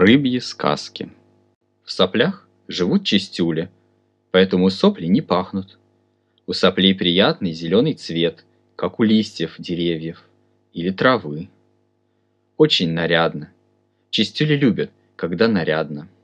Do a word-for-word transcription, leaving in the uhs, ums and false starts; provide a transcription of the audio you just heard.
Рыбьи сказки. В соплях живут чистюли, поэтому сопли не пахнут. У соплей приятный зеленый цвет, как у листьев деревьев или травы. Очень нарядно. Чистюли любят, когда нарядно.